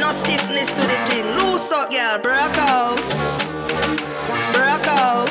no stiffness to the thing. Loose up, girl. Break out. Break out.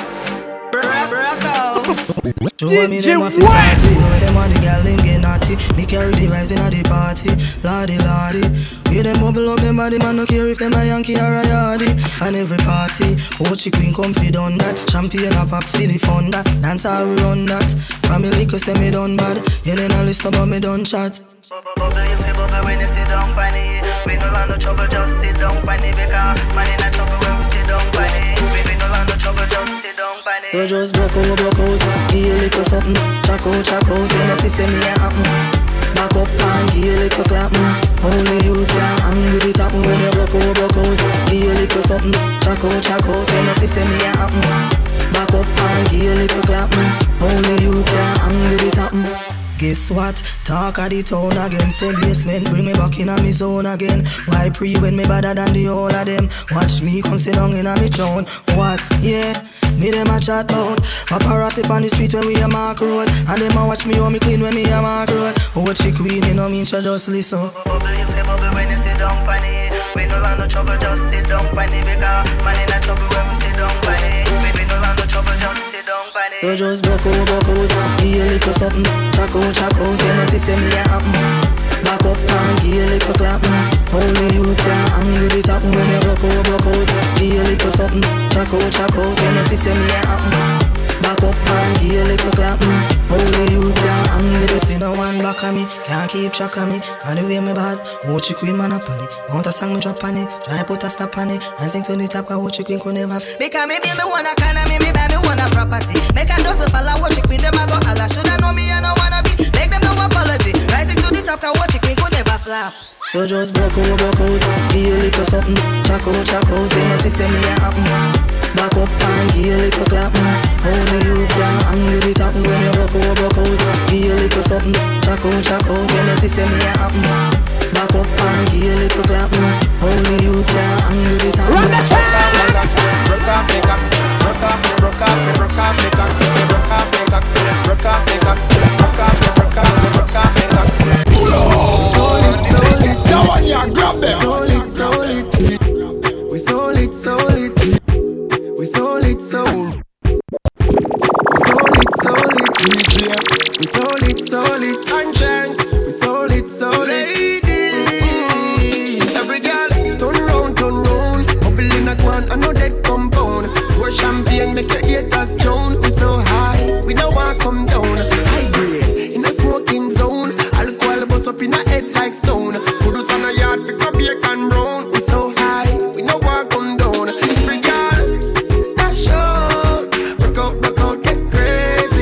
Break out. Show me them a fist party. Where them on the girl them get naughty. Me carry the rise in the party. Lordy, lordy. We them bubble up them body, man no care if them a Yankee or a Yardie. And every party, Ochi Queen come fi done that. Champagne a pop fi the fun that. Dance how we run that. Family liquor say me done bad. You then a listen but me done chat. Bubble if you bubble when you sit down funny. We no want no trouble, just sit down funny. Because man in a trouble when we sit down funny. We no want no trouble, just sit down funny. You just broke out. Give you little something. Check out. You know see say me a happen. Back up and give you little clapping. Only you can hang with it happen. When you broke out. Give you little something. Check out. You know see say me a happen. Back up and give you little clapping. Only you can hang with it happen. Guess what? Talk of the town again. Say basement, bring me back in a me zone again. Why pre when me better than the whole of them? Watch me come sit down in a me throne. What? Yeah, me them a chat bout. Paparazzi on the street when we a mark road. And them a watch me how me clean when me a mark road. What she queen, you know me so just listen. Bubble if you bubble when you sit down funny. We no want no trouble, just sit down funny. Because man in a trouble when we sit down funny. We no want no trouble, just sit down funny. You just broke out. Give you little something. Check out. You know see say me a happen. Back up and give you little clapping. Only you can hang with it happen. When you broke out. Give you little something. Check out. You know see say me a happen. Back up and give you little clapping. Only you can hang with it. See no one back on me. Can't keep track of me. Can't do way me bad. Watch your queen monopoly. Want a song me drop on it. Try put a stop on it. Rising to the top cause watch your queen could never. Because me wanna economy, me buy me wanna property. Make a dozen fella watch your queen, them a go holla. Shoulda know me, I no wanna be. Make them no apology. Rising to the top cause watch your queen could never flap. You just broke out. Give you little something. Check out. You know see say me a happen. Back up and give you little clapping. Only you can hang with it happen. When you broke out. Give you little something. Check out. You know see say me a happen. Back up and give you little clapping. Only you can hang with it happen. Run the track. Broke off me cock. Broke off me cock. Broke off me cock. Broke off me cock. Broke off me cock. Solid. Now on ya, grab them. Solid. We solid. We solid. DJ. We solid. Conscience. We solid. Ladies. Every girl, turn round. Bubble in a quan, I know that compound. Pour champagne, make your haters drown. We so high, we don't want come down. High grade, in a smoking zone. Alcohol bust up in a head like stone. Put it on a yard, pick up bacon brown. We so high, we don't want come down. Every girl, dash out. Broke out, get crazy.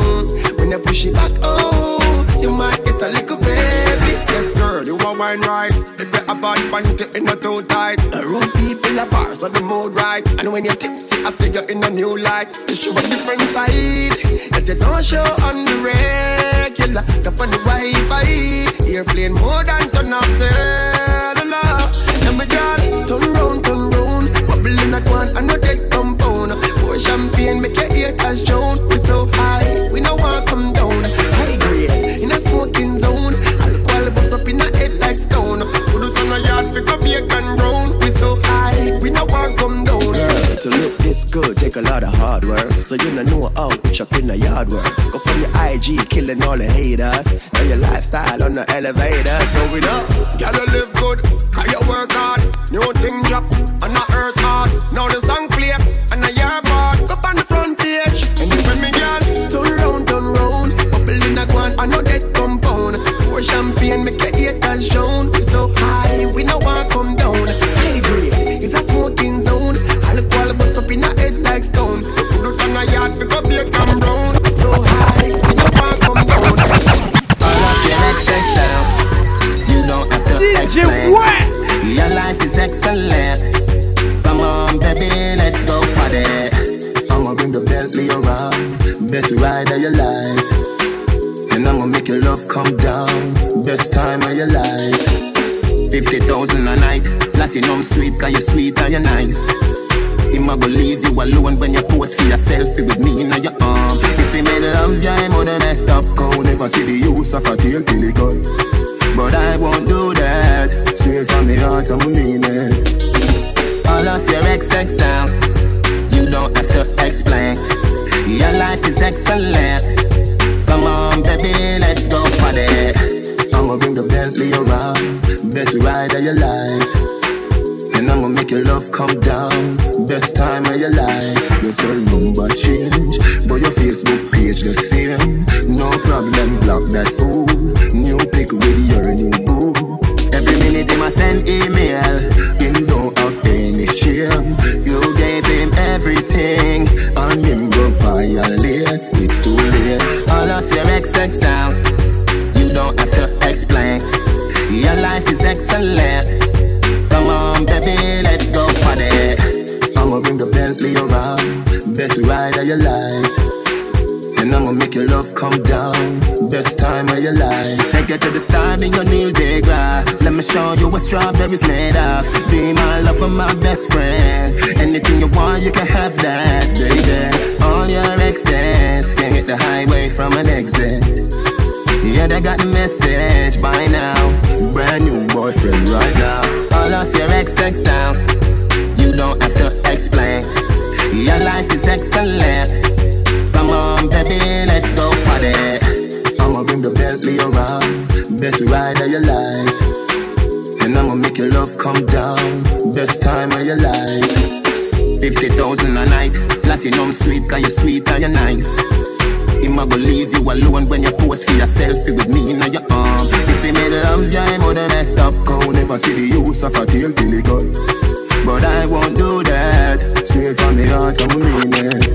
When you push it back, oh, you might get a little baby. Yes girl, you want wine right. If you have bad panty, it's not too tight. Around people are bars on the mood right. And when you're tipsy, I see you in a new light. You show a different side that you don't show on the regular. Up on the Wi-Fi, airplane more than turn off cellular. And my girl, turn round. Bubble in a quan, I know that compound. Pour champagne, make your haters drown. We so high, we no want come down. High grade, in a smoking zone. Alcohol bust up in a head like stone. Put it on a yard, pick up bacon brown. We so high, we no want come down. Girl, to look this good, take a lot of hard work. So you know how to chuck in the yard work. Go from your IG, killing all the haters. Now your lifestyle on the elevators going up. Gotta live good, cause you work hard. New thing drop, and I earth hard. Now the song play, and I hear part. Up on the front page, and you with me girl. Turn round, bubble in a guan, I know that compound. Pour champagne, make your haters drown. We so high, we no want come down. High grade, it's a smoking zone. Alcohol bust up in a head like stone. Put it on a yard, pick up bacon brown. So high, we no want come down. All of your XXL, you don't have to explain. Your life is excellent. Come on, baby, let's go party. I'ma bring the Bentley around. Best ride of your life. And I'ma make your love come down. Best time of your life. 50,000 a night. Platinum sweet, cause you're sweet and you're nice. I'ma go leave you alone when you pose for your selfie with me in your arm. If you made love, yeah, I'm on the messed up. Go never see the use of a tail till it gone. But I won't do that. Straight from the heart, I'm mean it. All of your XX sound, you don't have to explain. Your life is excellent. Come on, baby, let's go party. I'ma bring the Bentley around, best ride of your life. And I'ma make your love come down, best time of your life. Your cell number change, but your Facebook page the same. No problem, block that fool. New pic with your new boo. Every minute he must send email, him don't have any shame. You gave him everything, and him go violate. It's too late. All of your XX sound, you don't have to explain. Your life is excellent. Come on, baby, let's go party. I'ma bring the Bentley around, best ride of your life. And I'ma make your love come down, best time of your life. Take you to the star, be your Neil Degra. Let me show you what strawberries made of. Be my lover, my best friend. Anything you want, you can have that, baby. All your exes can hit the highway from an exit. Yeah, they got the message by now. Brand new boyfriend right now. All of your XX sound, you don't have to explain. Your life is excellent. Come on, baby, let's go party. I'ma bring the Bentley around, best ride of your life. And I'ma make your love come down, best time of your life. 50,000 a night, platinum sweet, cause you're sweet and you're nice. I'ma go leave you alone when you post for your selfie with me in your arm. If you made love, yeah, I'm gonna messed up. Go never see the use of a tail till it got. But I won't do that. Straight from the heart, I'm mean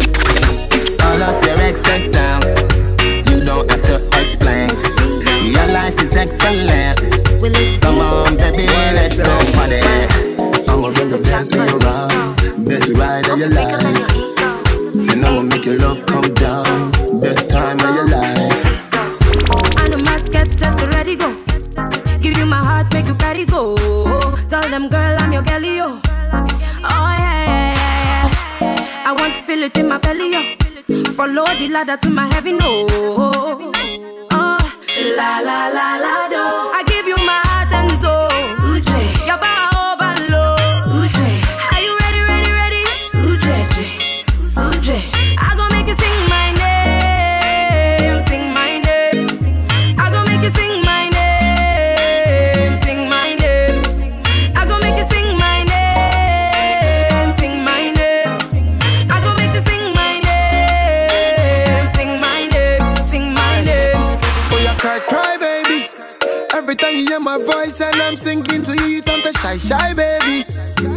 it. All of your XX sound, you don't have to explain. Your life is excellent. Come on, baby, let's go party. I'ma bring the Bentley around, best ride of your life. And I'ma make your love come down, best time of your life. I know must get set to ready go. Give you my heart, make you carry go. Tell them, girl, I'm your girlie, yo. Oh yeah, yeah, yeah, yeah. I want to feel it in my belly, yo. Follow the ladder to my heaven, no. Oh, la la la la do. I give you my heart and soul. Suje, your power overload. Suje, are you ready, ready, ready? Suje, Suje, I gon' make you sing my name, sing my name. I gon' make you sing my name, sing my name. I gon' make you sing my name, sing my name. I gon' make you sing my name, sing my name, sing my name. Oh, you cry, cry, baby. Every time you hear my voice and I'm singing to you, you turn to shy, shy, baby.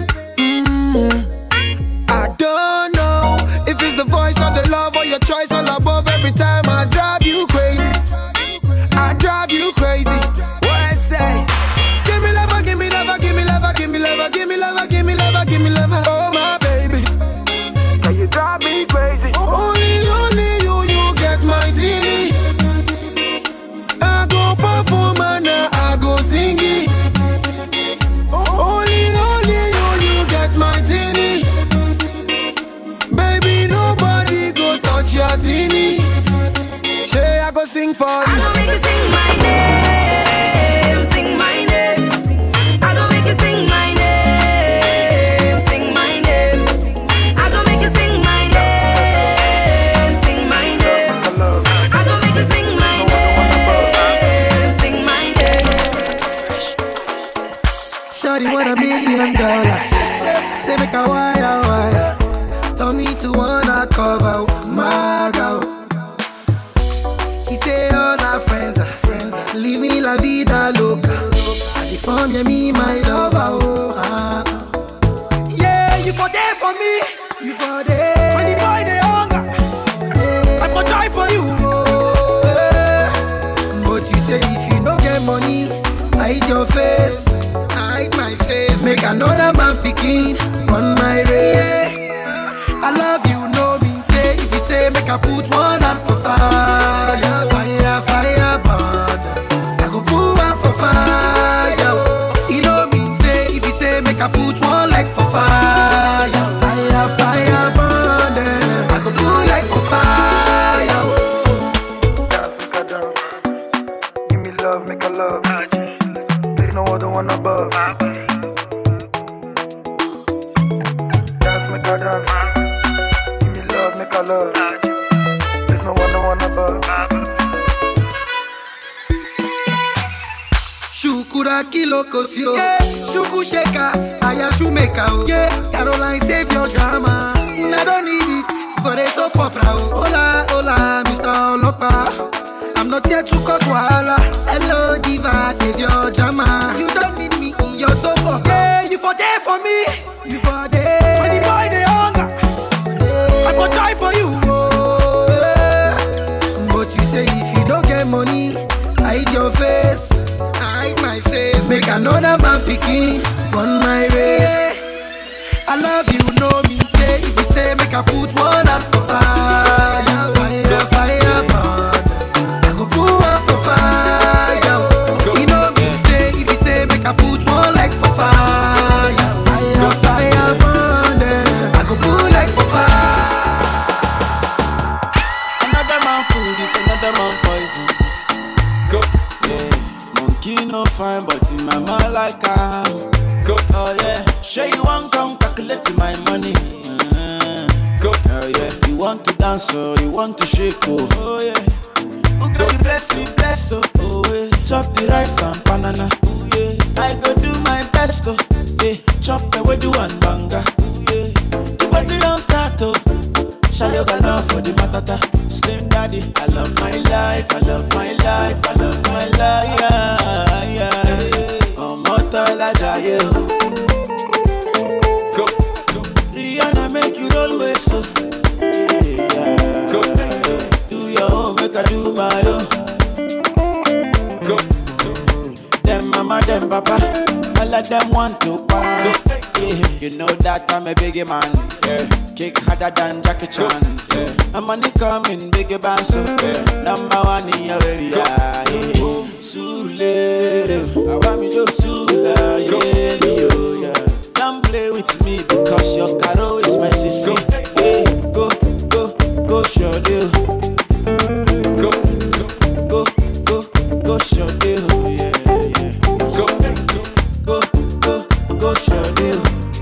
I don't know if it's the voice or the love or your choice all above. Every time I drive you crazy, I drive you crazy. What I say? Give me love, give me love, give me love, give me love, give me love, give me love, give me love. Oh my baby, now you drive me crazy. Only you get my teeny. I go perform and I go sing it. Only you get my teeny. Baby, nobody go touch your teeny. Say I go sing for you. I gon' make you sing my name, sing my name. I gon' make you sing my name, sing my name. I gon' make you sing my name, sing my name. I gon' make you sing my name, sing my name. Shawty want $1 million. Say make a wire. Tell me to wanna cover my girl. He say all our friends are living la vida loca. I defend me, my lover, oh. Yeah, you for there for me. You for there. When the boy they hunger, I for try for you. Oh, yeah. But you say if you don't get money, hide your face. Hide my face. Make another man picking on my race. I love you, no mean say. If you say make I put one hand for fire, fire burn. I go put one for fire. You know mean say. If you say make I put one leg for fire, fire burn. I go do leg for fire. Give me love, make a love. There's no other one above. Jordan. Give me love, make a love. There's no one above. Shukura kiloko sio, shuku sheka, aya shumeka o. Yeah, Caroline save your drama. I don't need it for a soap opera. Hola, hola, Mr. Olopa. I'm not here to cause wahala. Hello, diva, save your drama. You don't need me in your soap opera. Yeah, you for there for me. You for there. When the boy they hunger, I for die for you. Oh, yeah. But you say if you don't get money, hide your face. Hide my face. Make another man picking on my race. I love you, no me say. If you say make I put one up for fire, fire, fire, burn. I go put one for fire. You know me say. If you say make I put one like for fire, fire, fire, burn. I go put like for fire. Another man food is another man poison. Go, yeah. Monkey no fine, but in my mind like I'm. Go, oh yeah. Sure you want come calculate my money. Go, oh yeah. You want to dance or you want to shake, oh yeah. Who got the bless, oh yeah. Chop the rice and banana, oh yeah. I go do my best, oh yeah. Chop the way do one banga, oh yeah. The party don't start, oh. Shall you got love for the matata? Slim daddy, I love my life, I love my life, I love my life, yeah, yeah. Oh, Motala Jaye, go. Rihanna make you roll with so. Yeah. Go. Do your own, make I do my own. Go. Them mama, them papa, all of them want to party. Yeah. You know that I'm a biggie man. Yeah. Kick harder than Jackie Chan. Yeah. I'm money coming, biggie band so. Yeah. Number one in your area. Yeah. Sule, I want me to Sula. Yeah. Don't play with me because your caro is my sissy. Yeah. Go, show deal. Go, show deal. Yeah. Go, show deal.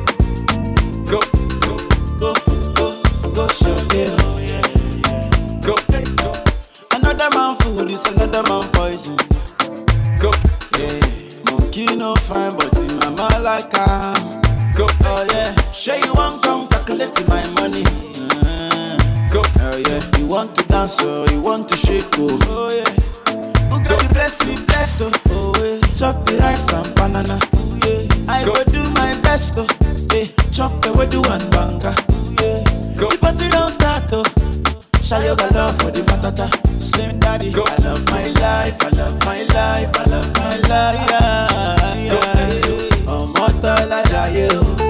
Go, show deal. Yeah. Go. Another man food is another man poison. Go, yeah. Monkey no fine, but in my mind like I'm. Go, oh yeah. Sure you want come calculate my money. Go, oh yeah. You want to dance or you want to shake, oh yeah. Who got the bless, oh yeah. Chop the rice and banana, oh yeah. I go do my best, oh yeah. Chop the way do one banga, oh yeah. The party don't start, oh. Shall you got love for the matata? Slim daddy, go. I love my life, I love my life, I love my life, yeah, yeah. Oh, Motala Jaye,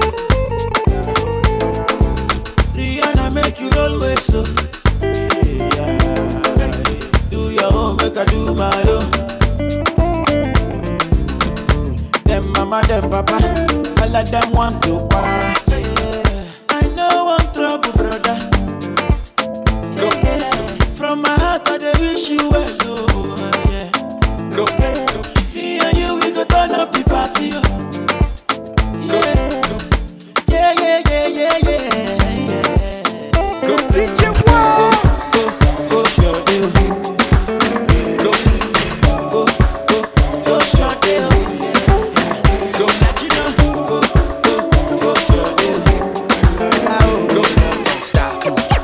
Rihanna make you roll with so. Yeah. Do your own, make I do my own. Them mama, them papa, all of them want to party. Yeah. I know one trouble, brother. From my heart, I wish you well, oh, yeah. Go. Me and you, we go turn up the party, oh. Yeah. Yeah. Go. Go, show deal. Go, show deal. Yeah. Go, let you know. Go, show deal. Go. Stop, come on.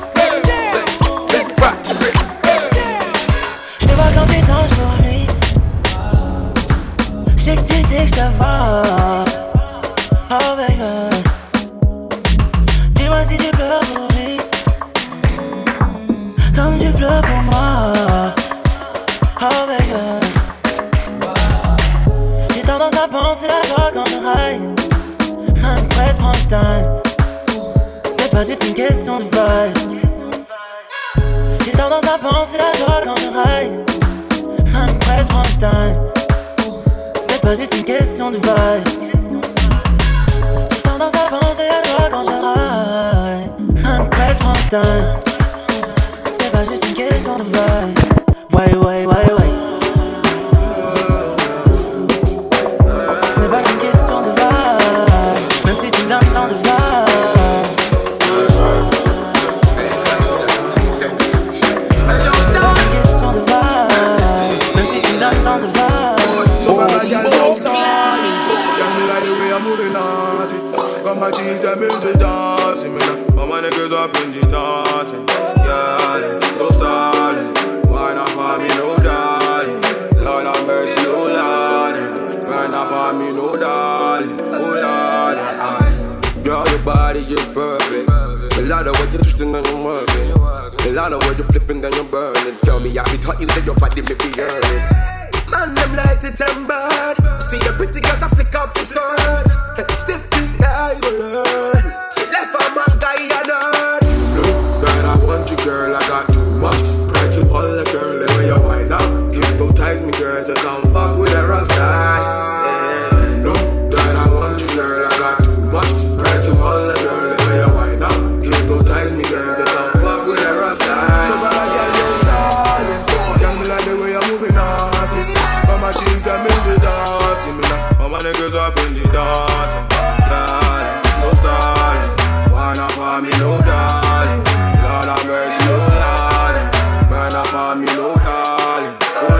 Quand tu danses pour lui, je sais que tu sais que je te vois. Oh baby, dis-moi si tu pleures pour lui, comme tu pleures pour moi. Oh baby, j'ai tendance à penser à toi quand je ride. Un presse montagne, c'est pas juste une question de vibe. J'ai tendance à penser à toi quand je ride. Un presse montagne, c'est pas juste une question de vibe. J'ai tendance à penser à toi quand je ride. Un presse montagne, c'est pas juste une question de vibe. Ouais. Ce n'est pas qu'une question de vibe, même si tu me donnes tant de vibe. I'm moving naughty. Got my G's, them in the dancing. All my niggas up in the dancing. Yeah, no stalling. Why not for me, no darling? Lord have mercy, oh Lord. Why not for me, no darling? Oh Lord. Girl, your body is perfect. A lot of what you're twisting and you're working. A lot of what you're flipping and you're burning. Tell me, I be thought you said your body make me earn it. Man, them like to temper. See the pretty girls, I flick up them skirts. Stiff thing, I will learn. She left a man, guy, and nerd. Look, that I want you, girl, I got too much. Try to hold a girl, the way you wind up. Hypnotize me, girl, to come fuck with a rock star. Yeah. Look, that I want you, girl, I got too much. Try to hold a girl, the way you wind up. Hypnotize me, girl, to come fuck with a rock star. So bad, I get you, darling. Tell me like the way you're moving on. My cheese, them in the dancing. All my niggas up in the dancing. Darling, no stalling. Why not for me, no darling? Lord have mercy, no darling. Why not for me, no darling?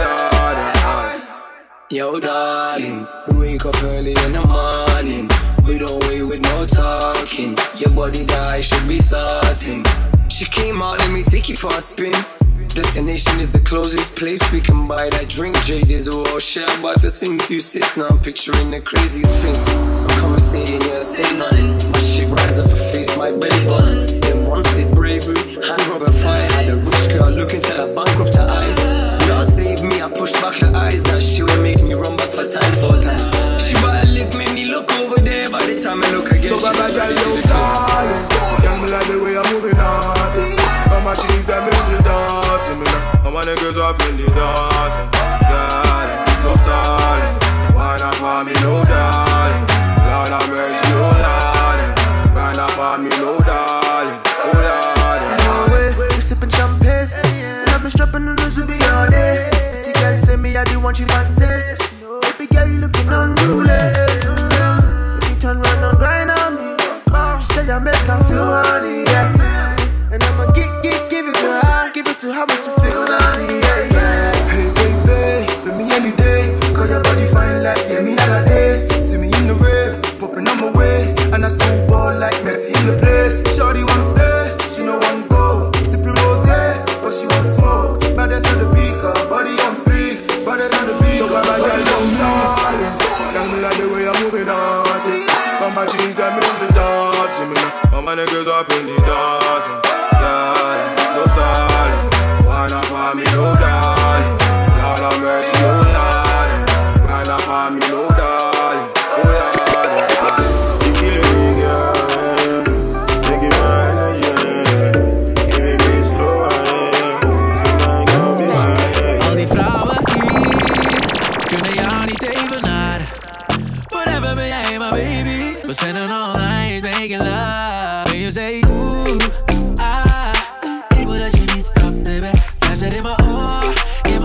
Oh, darling. Yo, darling, we wake up early in the morning. We don't wait with no talking. Your body guy should be starting. She came out, let me take you for a spin. Destination is the closest place we can buy that drink. Jade is a raw share, about to sing few sits. Now I'm picturing the craziest thing. I'm conversating, yeah, say nothing. My shit rise up her face, my belly button. Then one sip bravery, hand rub and fire. Had a rich girl looking till I bankrupt her eyes. Lord save me, I pushed back her eyes. That shit would make me run back for time for time. She bought a lip, made me look over there. By the time I look again, so bad, I got you, darling. Young me like the way I'm moving on. My cheese, them in the dancing. All my niggas up in the dancing. Darling, no stalling. Why not for me, no darling? Lord have mercy, oh darling. Why not for me, no darling? Oh darling. We sipping champagne, and I've been strapping on those to be all day. The girl say me I the one she fancy. Baby girl you looking unruly. Baby turn round and grind on me. She say I make her feel honey, yeah. And I'ma give it to her, make you feel honey, yeah. Hey baby, with me any day. Cause your body fine like yeah, me all day. See me in the rave, popping on my way. And I still ball like Messi in the place. Shorty want stay, she no want go. Sipping rosé, but she want smoke. Baddest on the beat, cause body on freak. Baddest on the beat, so bad, girl, don't darling. Tell me like the way I'm moving on. But my cheese, them in the dancing. All my niggas up in the dancing. Yeah, no stalling. Why not for me, no darling? Lord have mercy, oh darling. Why not for me, no darling? Oh darling. You killing me, girl. Take it right, yeah. Give it me slow, tonight gon' be mine. Al die vrouwen hier kunnen jou niet evenaren. Forever ben jij my baby. We spenden all night making love. When you say ooh, ik wil dat je niet stopt, baby. Fluister in mijn oor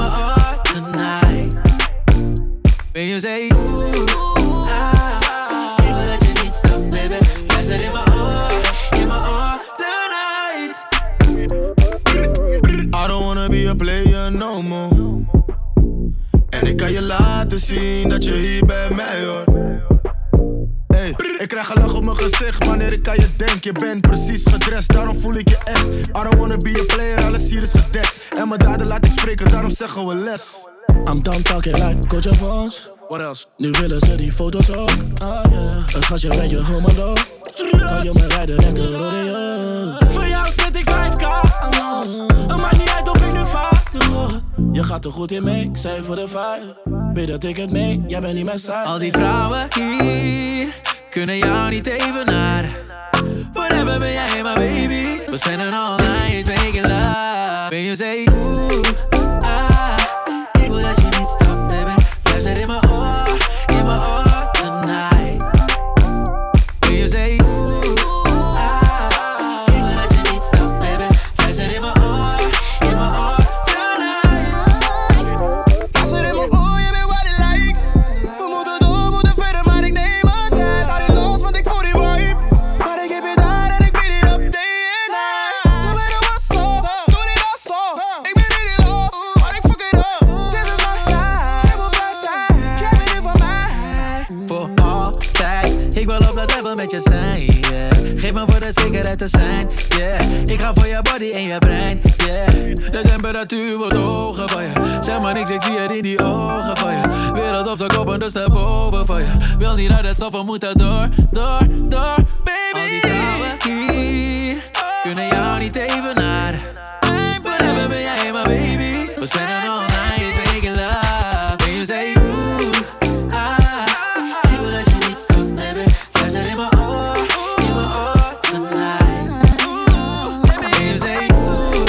tonight. When you say ooh, ik wil dat je niet stopt, baby. Fluister in mijn oor tonight. I don't wanna be a player no more. En ik kan je laten zien dat je hier bij mij hoort. Hey, ik krijg een lach op mijn gezicht wanneer ik aan je denk. Je bent precies gedrest, daarom voel ik je echt. I don't wanna be a player, alles hier is gedekt. En mijn daden laat ik spreken, daarom zeggen we les. I'm done talking like coach of ons. What else? Nu willen ze die foto's ook. Een schatje met je homolo. Kan je me rijden net de rodeo. Voor jou split ik 5k a maand. Het maakt niet uit of ik nu vader word. Je gaat er goed in mee, ik zei voor de vibe. Weet dat ik het mee, jij bent niet mijn side. Al die vrouwen hier kunnen jou niet evenaren. Forever ben jij my baby. We spenden all night making love. When you say ooh, ik wil dat je niet stopt, baby. Fluister in mijn oor tonight. When you say ooh, ik wil dat je niet stopt, baby. Fluister in mijn oor tonight. Fluister in mijn oor, je weet wat ik like. We moeten door, moeten verder, maar ik neem mijn tijd. Laat je los, want ik voel die vibe. Maar ik heb je daar en ik bied it up day and night. Ze willen wat zo, doe dit al zo. Ik ben in die love. Ik wil op dat level met je zijn, yeah. Geef me voor de zekerheid te zijn, yeah. Ik ga voor je body en je brein, yeah. De temperatuur wordt hoger van je. Zeg maar niks, ik zie het in die ogen van je. Wereld op z'n kop en dus daarboven van je. Wil niet uit het stoppen, moet er door, baby. Al die vrouwen hier kunnen jou niet evenaren. Forever ben jij my baby. We spenden all night making love. When you say ik wil dat je niet stopt, baby. Jij zit in mijn oor tonight. When you say ik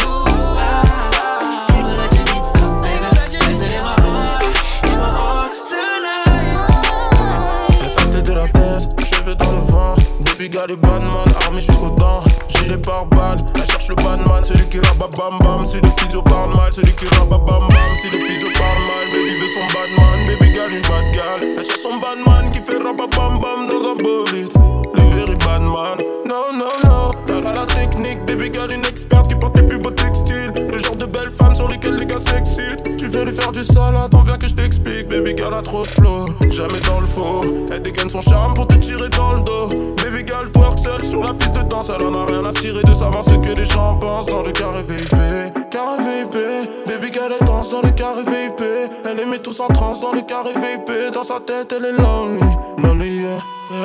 wil dat je niet stopt, baby. Jij zit in mijn oor tonight. Elle sortait de la tête, cheveux dans le vent. Baby got du badman, armé jusqu'aux dents. Gilet pare-balles, elle cherche le badman. Celui qui rabat bam bam, si le physio parle mal. Celui qui rabat bam bam, si le physio parle mal. Baby veut son badman, baby gal une bad gal. Elle cherche son badman qui fait rabat bam bam dans un bolide. Le very badman, no no no. Elle a la technique, baby gal une experte qui porte les plus beaux textiles. Le genre de belle femme sur lesquelles les gars s'excitent. Tu veux lui faire du sale, attends viens que je t'explique. Baby gal a trop de flow, jamais dans le faux. Elle dégaine son charme pour te tirer dans le dos. Baby gal twerk seule sur la piste de danse. Elle en a rien à cirer de savoir ce que les gens pensent. Dans le carré VIP, baby gal elle danse dans le carré VIP. Elle les met tous en transe dans le carré VIP. Dans sa tête elle est lonely, lonely yeah.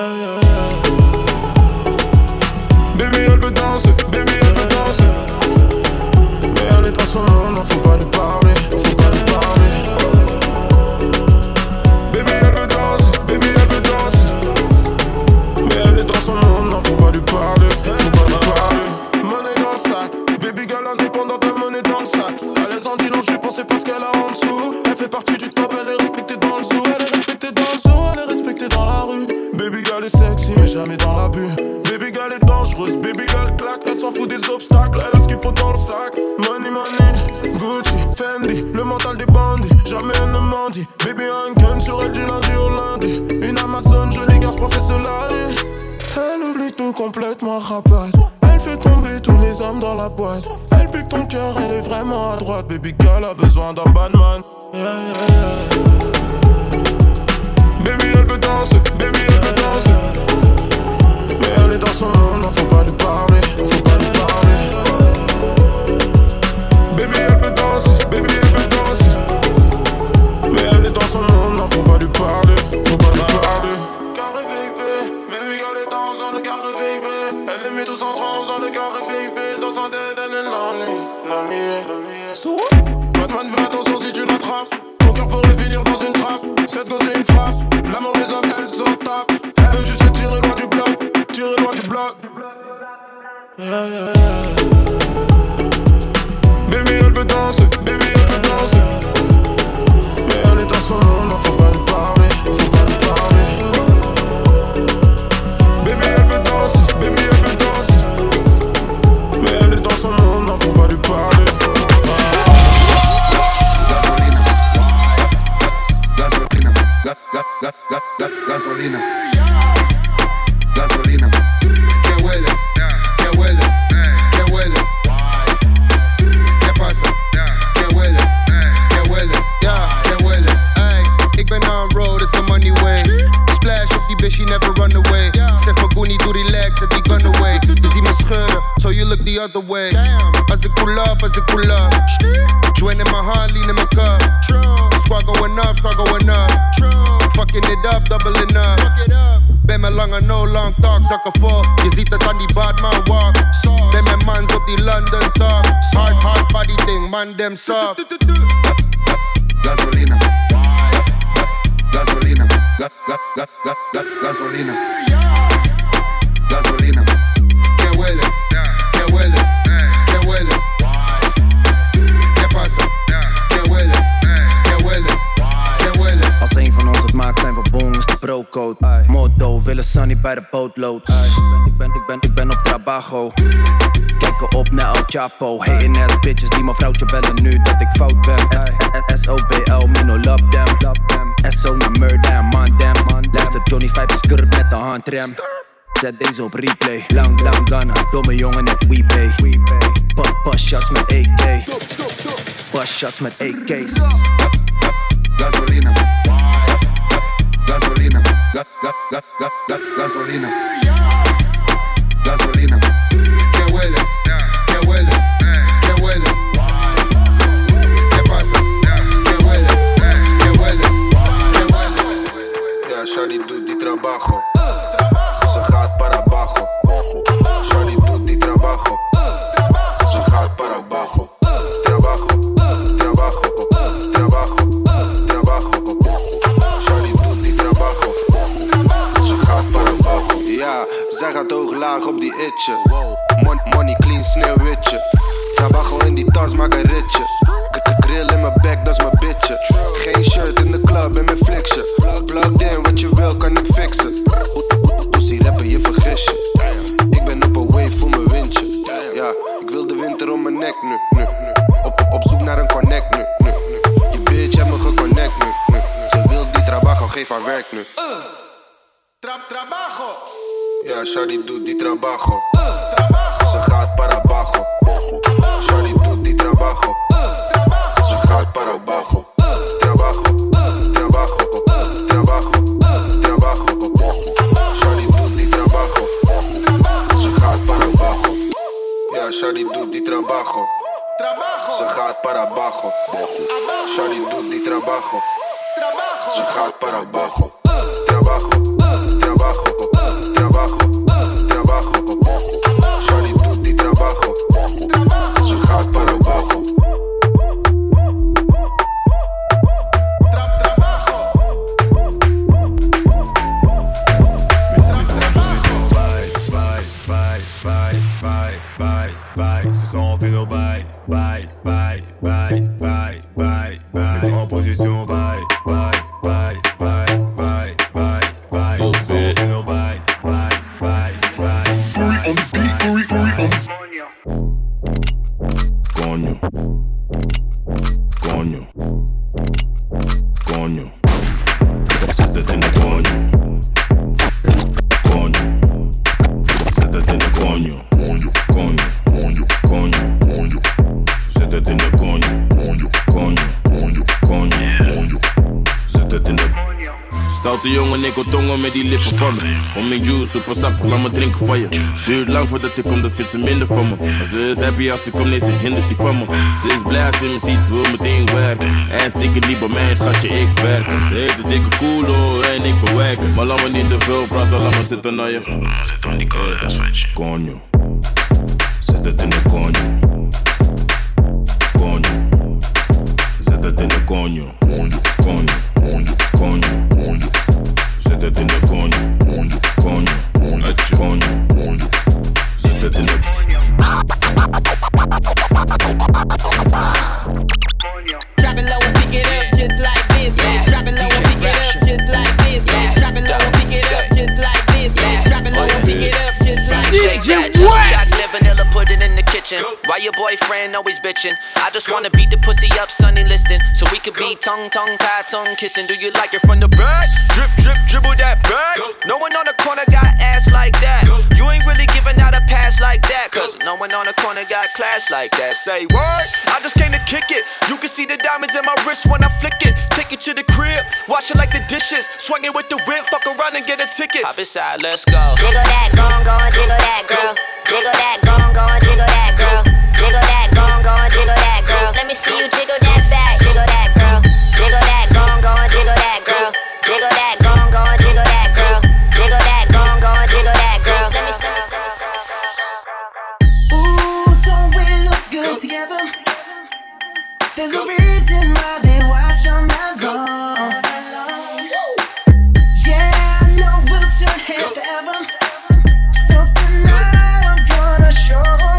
Baby elle veut danser, baby elle veut danser. Mais elle est dans son monde, non faut pas lui parler, faut pas lui parler. Baby elle veut danser, baby elle veut danser. Mais elle est dans son monde, non faut pas lui parler, faut pas lui parler. Monnaie dans le sac, baby gal indépendante, la monnaie dans le sac. Elle est en dit non, je pensais pas ce qu'elle a en dessous. Elle fait partie du top, elle est respectée dans le zoo. Elle est respectée dans le zoo, elle est respectée dans la rue. Baby gal est sexy mais jamais dans l'abus. Baby gal est dangereuse, baby gal claque. Elle s'en fout des obstacles, elle a ce qu'il faut dans le sac. Money, money, Gucci, Fendi, le mental des bandits. Jamais elle ne mendie. Baby a un gun sur elle du lundi au lundi. Une Amazon, jolie garce, princesse Solari. Elle oublie tout complètement rapace. Elle fait tomber tous les hommes dans la boîte. Elle pique ton cœur, elle est vraiment à droite. Baby girl a besoin d'un badman. Baby elle veut danser, baby elle veut danser. Mais elle est dans son monde, non faut pas lui parler, faut pas lui parler. Baby elle veut danser, baby elle veut danser. Mais elle est dans son monde, non faut pas lui parler, faut pas lui parler. Carré VIP, baby girl est dans le carré VIP. Elle les met tous en transe dans le carré VIP. Dans sa tête elle est lonely. Batman fais attention si tu l'attrapes. Ton cœur pourrait finir dans une trappe. Cette gosse c'est une frappe. L'amour des hommes elle s'en tape. Elle veut juste tirer loin du bloc. Tirer loin du bloc. Baby elle veut danser, baby elle veut danser. Mais elle est dans son monde, non faut pas lui parler, faut pas lui parler. Baby elle veut danser, baby elle veut danser. Mais elle est dans son monde, non faut pas lui parler. Gasolina, gasolina, que huele, que huele, que huele. ¿Qué pasa? Que huele, que huele, que huele. Ay, ik ben on road, it's the money way. Splash op die bitch, she never run away. Zeg maar Goonie, doe relax, zet die gun away. Je ziet me scheuren, so you look the other way. Als ik pull up, join in my hand, lean in my cup. Squad going up, fucking it up, doubling up. Ben mijn lange no long talk, zakken vol. Je ziet het aan die badman walk. Ben mijn mans op die London talk. Hard body thing, man dem soft. Gasolina, gasolina, gasolina, gasolina. Que huele, que huele, que huele. ¿Qué pasa? Que huele, que huele, que huele. Als een van ons het maakt zijn we boom, is de brocode. Motto, willen Sunny bij de bootlood. Ik ben op trabajo. Kijken op naar El Chapo. Hating ass bitches die mijn vrouwtje bellen nu dat ik fout ben. SOBL, me no love them. SO naar murder, man damn. Luister Johnny 5 is kurp met de handrem. Zet deze op replay. Lang gunna, domme jongen net Weebay. Pas shots met AK. Pas shots met AK's. Gasolina, gasolina, gasolina. gasolina, gasolina. Que huele, que huele, que huele. ¿Qué pasa? Que huele, que huele, que huele. Ja, Shawty doet die trabajo. Ze gaat para abajo. Shawty doet die trabajo. Ze gaat para abajo. Trabajo, trabajo, trabajo, trabajo. Shawty doet die trabajo. Ze gaat para abajo. Ja, zij gaat hoog laag op die itje. Money clean, sneeuwwitje. Trabajo in die tas, maak een ritje. Grill in mijn bek, dat is mijn bitje. Geen shirt in de club en mijn fliksje. Plugged in, wat je wil kan ik fixen. Pussy rappen, je vergis je. Ik ben op een wave voor mijn windje. Ja, ik wil de winter om mijn nek nu. Op zoek naar een connect nu. Je bitch heeft me geconnect nu. Ze wil die trabajo, geef haar werk nu. Trabajo. Ja, Shawty doet die trabajo. Ze gaat para abajo. Shawty doet die trabajo. Ze gaat para abajo. Trabajo, trabajo, trabajo, trabajo. Shawty doet die trabajo. Ze gaat para abajo. Ja, Shawty doet die trabajo. Ze gaat para abajo. Shawty doet die trabajo. Ze gaat para abajo. Trabajo, trabajo, trabajo, trabajo. Shawty doet die trabajo. Ze gaat para abajo. Ce soir on fait nos bails, bails, bails, bails, bails, bails, bails. Mets-toi en position, bails, bails, bails, bails, bails, bails, bails. Ce soir on fait nos bails, bails, bails, bails. Coño, coño, coño. Siéntate en el coño, coño. Siéntate en el coño, coño, coño, coño, coño. Siéntate en el coño, coño, coño, coño, coño. Siéntate en el stoute jongen, ik wil tongen met die lippen van me. Om mijn juice, super sappig, laat me drinken van je. Duurt lang voordat ik kom, dat vindt ze minder van me. Maar ze is happy als ze komt, nee, ze hindert niet van me. Ze is blij als ze me ziet, ze wil meteen werken. Hij is dikke niet bij mij, schatje, ik werk. Ze heeft een dikke culo en ik bewerken. Maar laat me niet te veel praten, laat me zitten naar je. Zit aan die coño. Zet het in de coño. Coño. Zet het in de coño. Coño, coño, coño, coño. Zet het in de coño. Coño, coño, coño, coño. Zet het in de Drop it low and pick it up just like this. Drop it low and pick it up just like this. Drop it low and pick it up just like this. Drop it low and pick it up just like this. Shake that, chocolate, vanilla, put it in the kitchen. Why your boyfriend always bitching? I just wanna beat the pussy up, Sunny listing, so we could be tongue, tie, tongue kissing. Do you like it from the back? Drip, drip, dribble that back. No one on the corner got ass like that. You ain't really giving out a pass like that, cause no one on the corner got class like that. Say word, I just came to kick it. You can see the diamonds in my wrist when I flick it. Take it to the crib, wash it like the dishes. Swing it with the whip, fuck around and get a ticket. Hop inside, let's go. Jiggle that, go and jiggle that, girl. Jiggle that, go and jiggle that, girl. Jiggle that, go and jiggle that, girl. Let me see you jiggle that back, jiggle that, girl. Jiggle that, go and jiggle that, girl. Jiggle that, go and jiggle that, girl. Jiggle that, go and jiggle that, girl. Let me see. Ooh, don't we look good together? There's a reason why they watch all night long. Yeah, I know we'll turn heads forever. So tonight I'm gonna show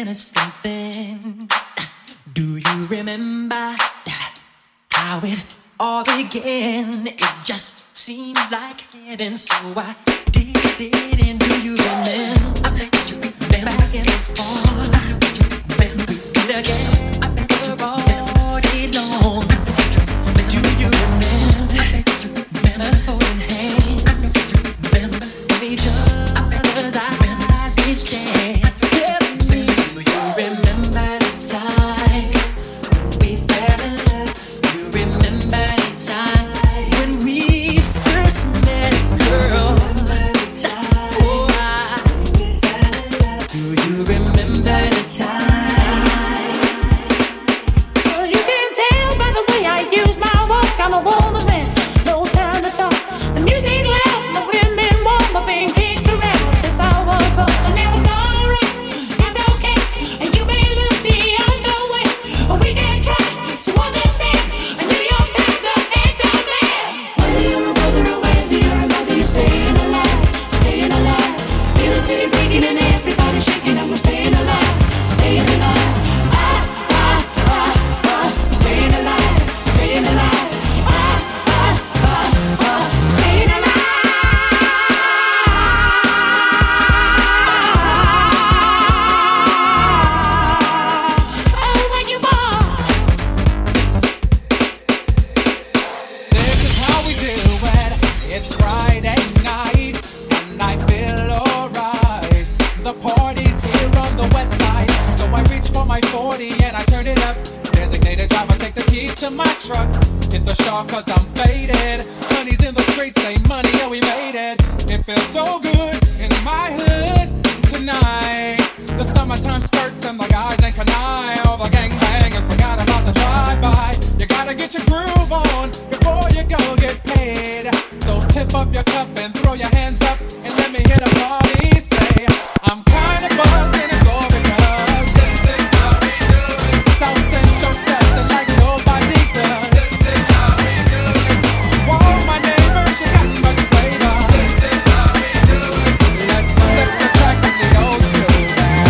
us something. Do you remember how it all began? It just seemed like heaven, so I did it. And do you remember? I bet you been back and forth. When we did again, I bet you're all day long. Do you remember us holding hands? Remember each other's eyes we stare. Tell me, do you remember the time we fell in love? You remember the time when we first met, girl? Oh, do you remember the time? Well, you can tell by the way I use my walk, I'm a woman's man. No time to talk. The music loud, the women warm, but being kicked around since I was born. And now it's alright, it's okay, and you may look the other way, but we can try to understand. And New York Times are anti-man. Whether you're a brother or whether you're a mother, you're staying alive, staying alive. Feel the city breaking and everybody shaking, and we're staying alive, staying alive. Staying alive, staying alive. Staying alive. Oh, when you walk. This is how we do it. It's Friday night, and I feel alright. The party's here on the west side, so I reach for my 40 and I turn it up. Designated driver, take the keys to my truck. Hit the shop cause I'm faded. Honey's in the streets, say money, yeah, we made it. It feels so good in my hood tonight. The summertime skirts and the guys ain't canine. All the gangbangers forgot about the drive-by. You gotta get your groove on before you go get paid. So tip up your cup and throw your hands up and let me hit a party. Say, I'm kinda buzzed and it's all because South Central does it like nobody does. To all my neighbors, you got much flavor. Let's flip the track in the old school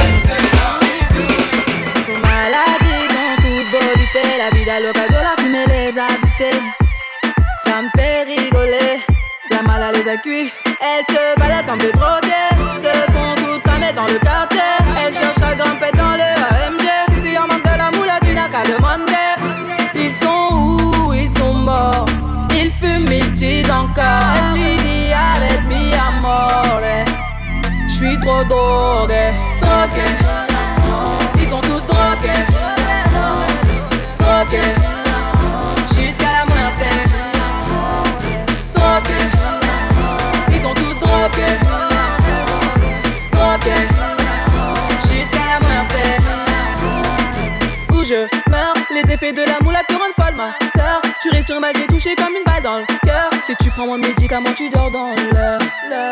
Son maladie, sont tous bobités. La vida loca, de la fumée les a goûtés. Ça me fait rigoler. La mala les a cuits. Elles se baladent comme des droguées. Se font toutes cramer dans le quartier. Elles cherchent à grimper dans le AMG. Si tu en manques de la moula, tu n'as qu'à demander. Ils sont où? Ils sont morts. Ils fument, ils disent encore. Elle lui dit avec mi amore. J'suis trop drogué. Drogué. Ils sont tous drogués. Drogués. Jusqu'à la muerte. Drogués. Ils sont tous drogués. Drogués. Jusqu'à la muerte. Où je meurs, les effets de la moula te rendent folle, ma sœur. Tu respires mal, t'es touché comme une balle dans le cœur. Si tu prends mon médicament, tu dors dans l'heure.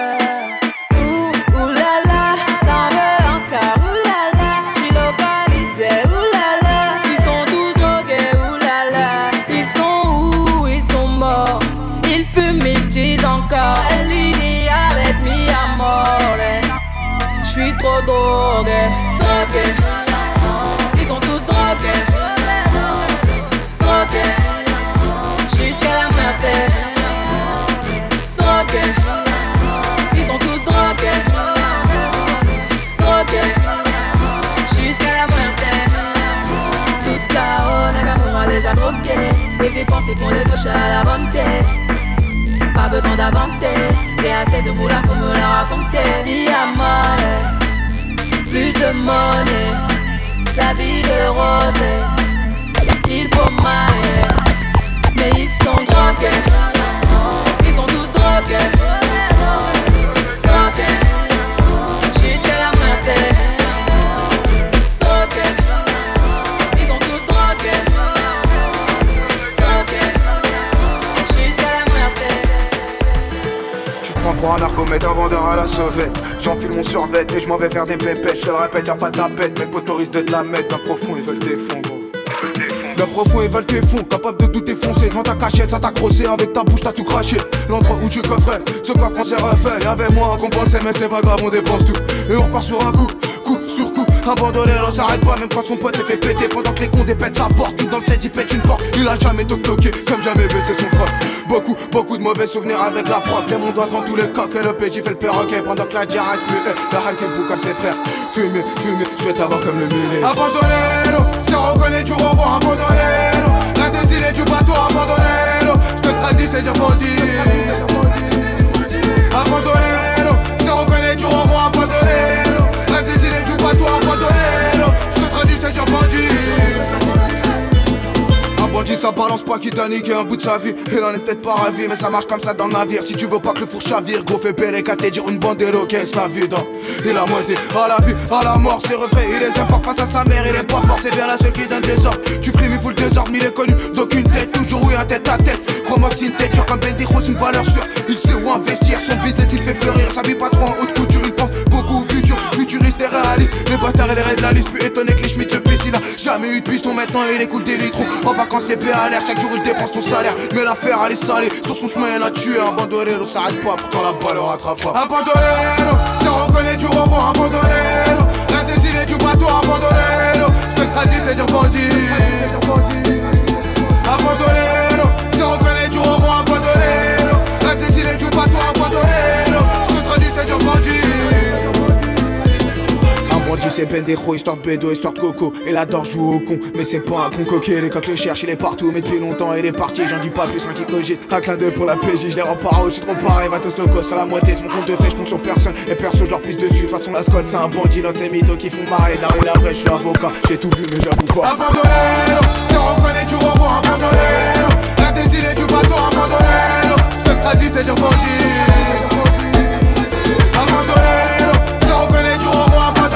Ouh la la, t'en veux encore. Ouh la la, j'suis localisé. Ouh la la, ils sont tous drogués. Ouh la la, ils sont où? Ils sont morts. Ils fument, ils disent encore. Elle lui dit avec mi amore. J'suis trop drogué. Drogué. Ils sont tous drogués. Drogués. Jusqu'à la muerte. Drogués. Ils sont tous drogués. Drogués. Jusqu'à la muerte. Tous KO, Nakamura les a drogués. Les dépenses font les gauches à la volonté. Pas besoin d'inventer. J'ai assez de moula pour me la raconter. Mi amore. Plus de monnaie. La vie de rose. Il faut mailler. Mais ils sont drogués. Ils sont tous drogués. Drogués. Jusqu'à la muerte. Drogués. Ils sont tous drogués. Drogués. Jusqu'à la muerte. Tu prends pour un narcomètre, un vendeur à la sauvette. J'enfile mon survêt et je m'en vais faire des pépettes. Je te le répète, y'a pas de tapette. Mes potos risquent de te la mettre. D'un profond, ils veulent des fonds, gros. D'un profond, ils veulent tes fonds. Capable de douter foncé. Devant ta cachette, ça t'a crossé. Avec ta bouche, t'as tout craché. L'endroit où tu coffrais, ce coffre on s'est refait. Y'avait moi qu'on pensait, mais c'est pas grave, on dépense tout. Et on repart sur un coup, coup sur coup. Un bandolero s'arrête pas même quand son pote s'est fait péter. Pendant que les cons dépètent sa porte, tout dans le 16 il pète une porte. Il a jamais toqué, comme jamais baissé son froc. Beaucoup de mauvais souvenirs avec la prod. Les mon doigt dans tous les coques et le PJ fait le perroquet. Pendant que la diarrhée reste plus la halle qui boucle à ses frères. Fumer, je vais t'avoir comme le mulet. Un bandolero, si on reconnaît tu revois un bandolero. L'intensité du bateau, un bandolero. Je te tradis c'est dire bandit. Un bandolero, si on reconnaît tu revois un bandolero. L'intensité du bateau, un bandolero. Je te tradis c'est dire bandit. Un bandit ça balance pas qui t'a niqué un bout de sa vie. Il en est peut-être pas ravi mais ça marche comme ça dans le navire. Si tu veux pas que le four chavire, gros fais péré qu'à te dire une bandero qu'est-ce la vie dans. Il a moitié à la vie, à la mort, c'est refait. Il est fort face à sa mère, il est pas fort, c'est bien la seule qui donne des ordres. Tu frimes, il fout le désordre, mais il est connu d'aucune tête. Toujours eu un tête à tête. Crois-moi que c'est une tête dure comme Bendijo, c'est une valeur sûre. Il sait où investir, son business il fait fleurir. Ça vit pas trop en haute couture, il pense beaucoup au futur. Futuriste et réaliste, les bâtards et les raids de la liste. Plus étonné que les Schmitt le piste, il a jamais eu de piston. Maintenant il écoule des litrons. En vacances TP à l'air, chaque jour il dépense ton salaire. Mais l'affaire elle est salée, sur son chemin elle a tué. Un bandolero s'arrête pas, pourtant la balle le rattrape pas. Un bandolero, si on reconnaît tu revois un bandolero. L'intensité du bateau, un bandolero. Je te tradis c'est dire bandit. Un bandolero, si on reconnaît tu revois un bandolero. L'intensité du bateau, un bandolero. Je te tradis c'est dire bandit. Bandit c'est Bendejo, histoire de bédo, histoire de coco. Et la dor joue au con, mais c'est pas un con coquet. Les coqs le cherchent, il est partout, mais depuis longtemps il est parti. J'en dis pas plus, un qui cogite. Un clin d'œil pour la PJ, je les rends paro, je suis trop pareil. Va tous locos, à la moitié, c'est mon compte de fait, je compte sur personne. Et perso, je leur pisse dessus. De toute façon, la squad c'est un bandit, l'autre c'est mytho qui font marrer. La rue, la vraie, je suis avocat, j'ai tout vu, mais j'avoue pas. Un bandolero, si on reconnaît, tu revois un bandolero. L'intensité du bateau, un bandolero. Je te tradis, c'est dire bandit. Un bandolero, si on reconnaît, tu revois un bandolero.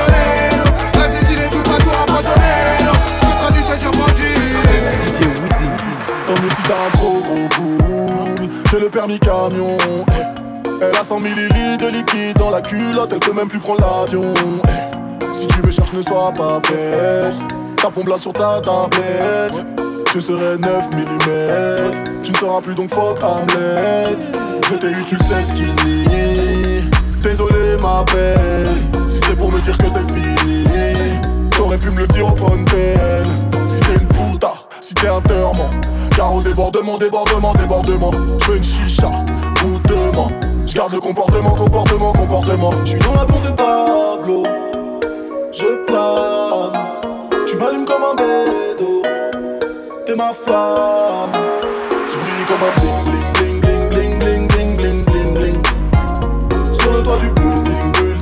Comme si t'as un gros boule. J'ai le permis camion. Elle a 100 millilitres de liquide dans la culotte. Elle peut même plus prendre l'avion. Si tu me cherches, ne sois pas bête. Ta pompe là sur ta tablette. Je serai 9 mm. Tu ne seras plus donc fuck Hamlet. Je t'ai eu, tu le sais, skinny. Désolé ma belle. Si c'est pour me dire que c'est fini, t'aurais pu me le dire au fontaine. Si t'es une puta, si t'es un terment. Car au débordement, je veux une chicha, goûtement. Je garde le comportement. J'suis dans l'avion de Pablo. Je plane. Tu m'allumes comme un bédo. T'es ma flamme. J'brille comme un bling bling bling bling bling bling bling bling. Sur le toit du building.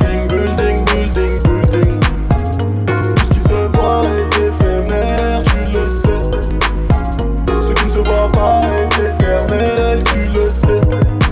Tout ce qui se voit est éphémère, tu le sais. Ce qui ne se voit pas est éternel, tu le sais.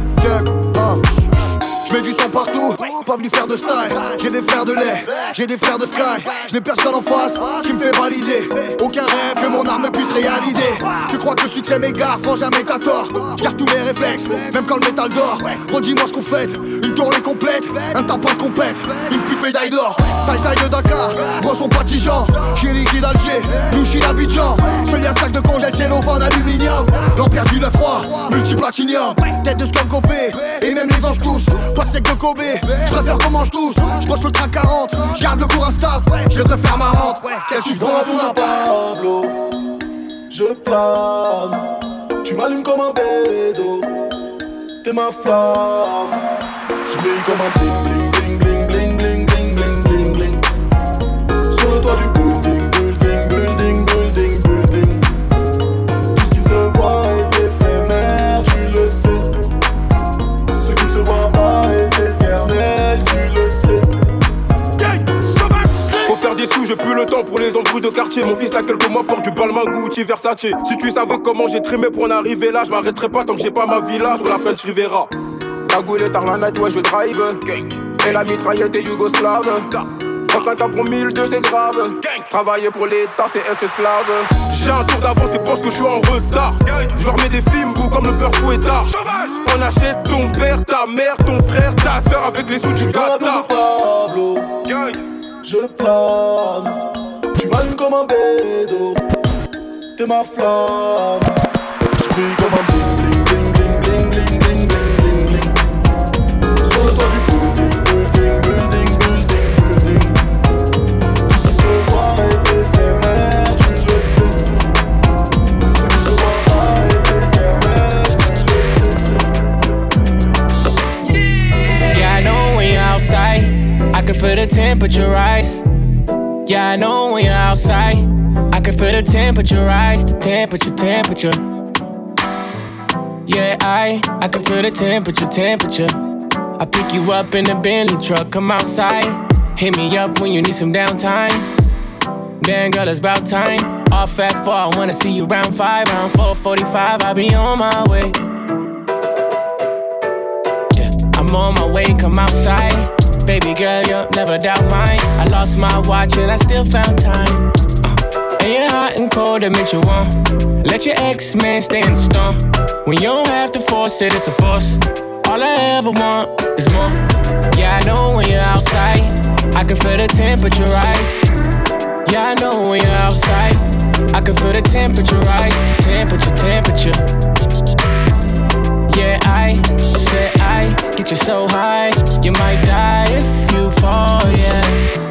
Je mets du son partout, pas venu faire de style. J'ai des frères de lait, j'ai des frères de sky. Je n'ai personne en face qui me fait valider. Aucun rêve que mon art ne puisse réaliser. Tu crois que le succès m'égare, franc jamais t'as tort. Garde tous mes réflexes, même quand le métal dort. Redis-moi ce qu'on fait, une tournée complète. Un tapin de compète, une pute médaille d'or. Side de Dakar, gros son patigeant. J'suis liquide Alger, nous j'suis l'Abidjan. Seul y'a sac de congèle, cellophane, aluminium. L'empire du 9-3, multiplatinium. Tête de scum copé, et même les anges tous. Toi c'est que Kobe, j'préfère qu'on mange tous. J'bosse le train 40, j'garde le cours instable. J'vais faire ma rente, quel suspens à son Pablo. Je plane. Tu m'allumes comme un bédo. T'es ma flamme. J'brille comme un bling bling bling bling bling bling bling bling bling. Sur le toit du building. Tout ce qui se voit est éphémère, tu le sais. Ce qui ne se voit pas est éternel, tu le sais. Faut faire des sous, j'ai plus le temps pour les embrouilles de quartier. Mon fils a quelques mois porte du Balmain Gucci Versace. Si tu savais comment j'ai trimé pour en arriver là, je m'arrêterai pas tant que j'ai pas ma villa sur la French Rivera. Cagoulé tard la night, ouais je drive. Et la mitraillette est yougoslave. 35 pour 1002 c'est grave. Travailler pour l'État c'est être esclave. J'ai un tour d'avance et pense que je suis en retard. Je leur mets des films goût comme le peur fouettard. On achète ton père, ta mère, ton frère, ta soeur avec les sous du Qatar. Pablo, je plane. Tu m'allumes comme un bédo. T'es ma flamme. J'brille comme un bling bling bling bling bling bling bling bling. Sur le toit du building. Tout ce qui temperature rise. Yeah, I know when you're outside. I can feel the temperature rise, the temperature. Yeah, I can feel the temperature. I pick you up in the Bentley truck, come outside. Hit me up when you need some downtime. Damn girl, it's about time. Off at 4, I wanna see you round 5. Round 4:45, I'll be on my way. Yeah, I'm on my way, come outside. Baby girl, you'll never doubt mine. I lost my watch and I still found time. And you're hot and cold, that makes you warm. Let your ex-man stay in the storm. When you don't have to force it, it's a force. All I ever want is more. Yeah, I know when you're outside. I can feel the temperature rise. Yeah, I know when you're outside. I can feel the temperature rise. The temperature. Yeah, I said I get you so high. You might die if you fall, yeah.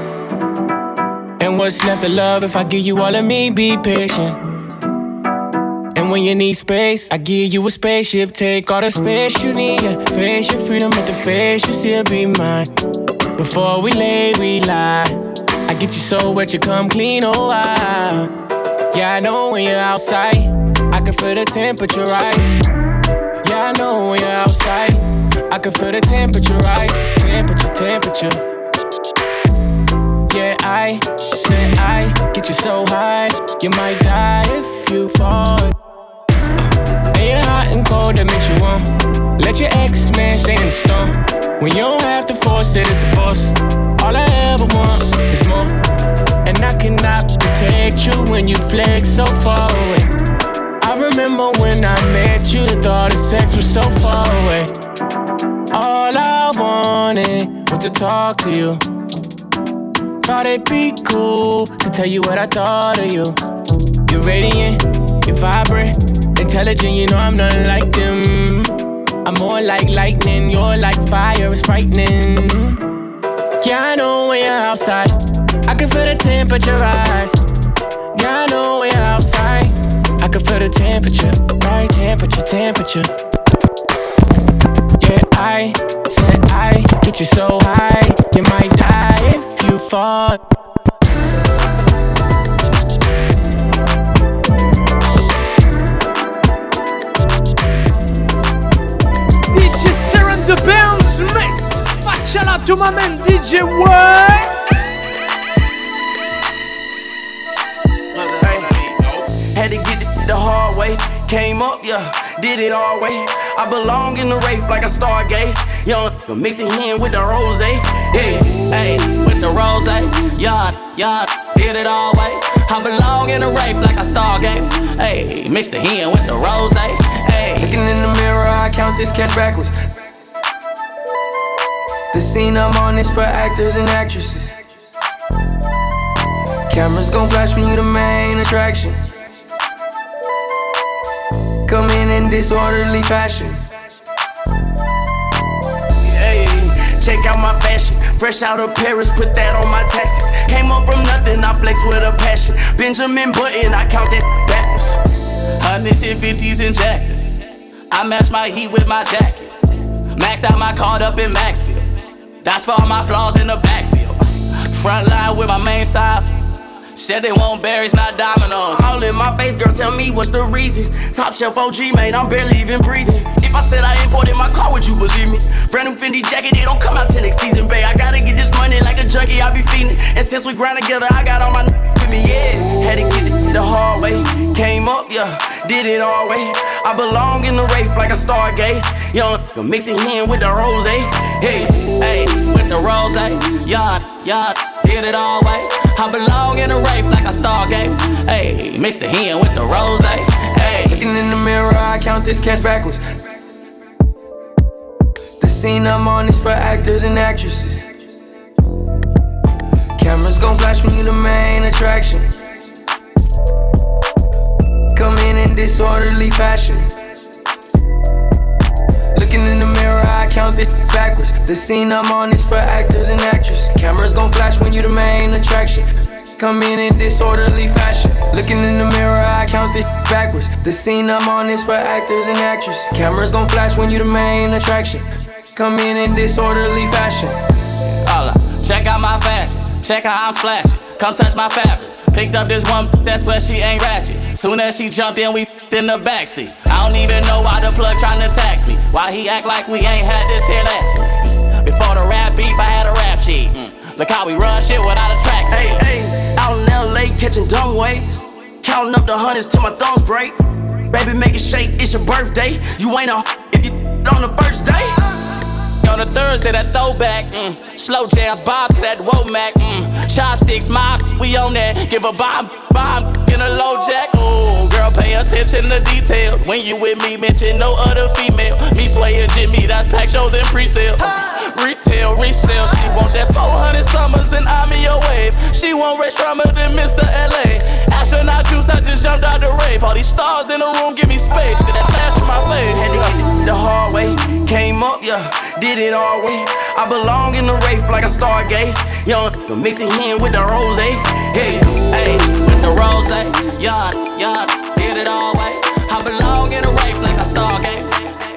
And what's left of love if I give you all of me? Be patient. And when you need space, I give you a spaceship. Take all the space you need, yeah. Face your freedom at the face, you still be mine. Before we lay, we lie. I get you so wet, you come clean, oh wow. Yeah, I know when you're outside. I can feel the temperature rise. Yeah, I know when you're outside. I can feel the temperature rise. Temperature. Yeah, I said I get you so high. You might die if you fall. And you're hot and cold, that makes you warm. Let your ex-man stay in the storm. When you don't have to force it, it's a force. All I ever want is more. And I cannot protect you when you flex so far away. I remember when I met you, the thought of sex was so far away. All I wanted was to talk to you. Thought it'd be cool to tell you what I thought of you. You're radiant, you're vibrant, intelligent, you know I'm nothing like them. I'm more like lightning, you're like fire, it's frightening. Yeah, I know when you're outside. I can feel the temperature rise. Yeah, I know when you're outside. I can feel the temperature, right? Temperature. Yeah, I said I get you so high. You might die if you fall. DJ Serum the Bounce Mix. Facciala to my man DJ What? Had to get it the hard way. Came up, yeah, did it all way. I belong in the rape like a stargaze. Young, mix it in with the rose. Hey, with the rose. Yard, did it all way. I belong in the rape like a stargaze. Hey, mix the hen with the rose. Hey, looking in the mirror, I count this cash backwards. The scene I'm on is for actors and actresses. Cameras gon' flash when you the main attraction. Come in disorderly fashion. Hey, check out my fashion. Fresh out of Paris, put that on my taxes. Came up from nothing, I flex with a passion. Benjamin Button, I count that backwards. 100s and 50s in Jackson. I match my heat with my jackets. Maxed out my card up in Maxfield. That's for all my flaws in the backfield. Front line with my main side. Said they want berries, not dominoes. All in my face, girl, tell me what's the reason. Top shelf OG, man, I'm barely even breathing. If I said I imported my car, would you believe me? Brand new Fendi jacket, it don't come out till next season, babe. I gotta get this money like a junkie, I be feeding. And since we grind together, I got all my with me, yeah. Had to get it the hard way. Came up, yeah, did it all way. I belong in the rape like a stargaze. Young, mix it in with the rose. Hey, with the rose. Yard, did it all way. I belong in a rape like a stargaze. Hey, mix the hen with the rose. Hey, looking in the mirror, I count this cash backwards. The scene I'm on is for actors and actresses. Cameras gon' flash when you the main attraction. Come in disorderly fashion. Looking in the mirror, I count it backwards. The scene I'm on is for actors and actresses. Cameras gon' flash when you the main attraction. Come in disorderly fashion. Looking in the mirror, I count it backwards. The scene I'm on is for actors and actresses. Cameras gon' flash when you the main attraction. Come in disorderly fashion. Check out my fashion, check how I'm splashing. Come touch my fabrics. Picked up this one, that's where she ain't ratchet. Soon as she jumped in, we in the backseat. I don't even know why the plug tryna tax me. Why he act like we ain't had this here last week. Before the rap beef, I had a rap sheet. Look how we run shit without a track. Hey, out in LA catching dumb waves. Counting up the hundreds till my thumbs break. Baby, make it shake, it's your birthday. You ain't a if you on the first day. On a Thursday, that throwback, slow jams, bob to that Womack, chopsticks, mob, we on that. Give a bomb in a low jack. Ooh, girl, pay attention to detail. When you with me, mention no other female. Me, Sway, and Jimmy, that's pack shows and pre-sale. Retail, resale, she want that 400 summers and I'm in your wave. She want Ray Shrummer than Mr. LA. Astronaut juice, I just jumped out the rave. All these stars in the room, give me space. Did that flash in my face? Had to get the hard way, came up, yeah, did it all way. I belong in the rape like a stargaze. Young, mixing in with the rose. Hey, with the rose. Young, did it all way. I belong in the rape like a stargaze.